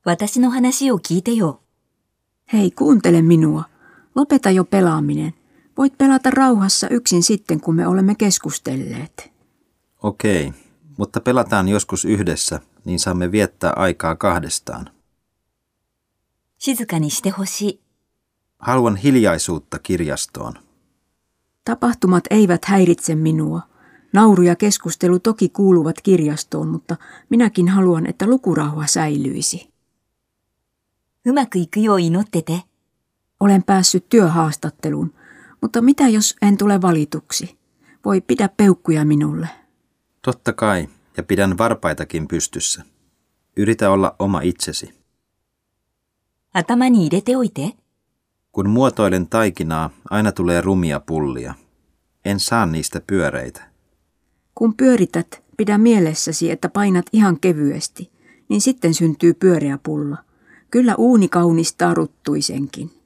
私の話を聞いてよ。 Hei, kuuntele minua. Lopeta jo pelaaminen. Voit pelata rauhassa yksin sitten, kun me olemme keskustelleet. Okei, mutta pelataan joskus yhdessä, niin saamme viettää aikaa kahdestaan. 静かにしてほしい。 Haluan hiljaisuutta kirjastoon. Tapahtumat eivät häiritse minua. Nauru ja keskustelu toki kuuluvat kirjastoon, mutta minäkin haluan, että lukurauha säilyisi. うまくいくよう祈ってて。 Olen päässyt työhaastatteluun, mutta mitä jos en tule valituksi? Voi pidä peukkuja minulle. Totta kai, ja pidän varpaitakin pystyssä. Yritä olla oma itsesi. 頭に入れておいて。 Kun muotoilen taikinaa, aina tulee rumia pullia. En saa niistä pyöreitä. Kun pyörität, pidä mielessäsi, että painat ihan kevyesti, niin sitten syntyy pyöreä pulla. Kyllä uuni kaunistaa ruttuisenkin.